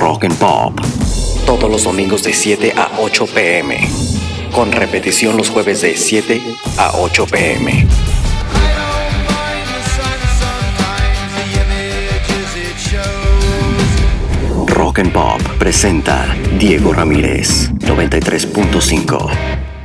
Rock and Pop. Todos los domingos de 7 a 8 p.m. Con repetición los jueves de 7 a 8 p.m. Rock and Pop presenta Diego Ramírez, 93.5.